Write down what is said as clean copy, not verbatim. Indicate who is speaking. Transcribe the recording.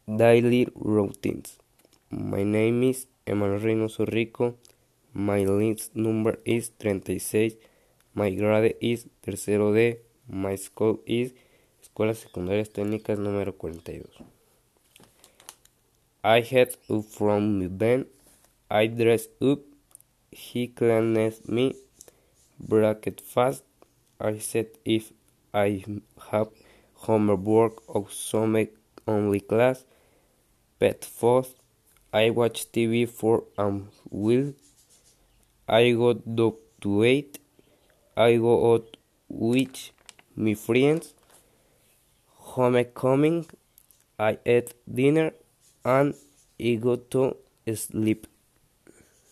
Speaker 1: Daily routines. My name is Emmanuel Reynoso Rico. My list number is 36. My grade is tercero D. My school is Escuelas Secundarias Técnicas número 42. I get up from my bed. I dress up. He cleans me. Breakfast. I said if I have homework or some only class. Pet food. I watch TV for will. I go dog to eat. I go out with my friends. Homecoming. I eat dinner and I go to sleep.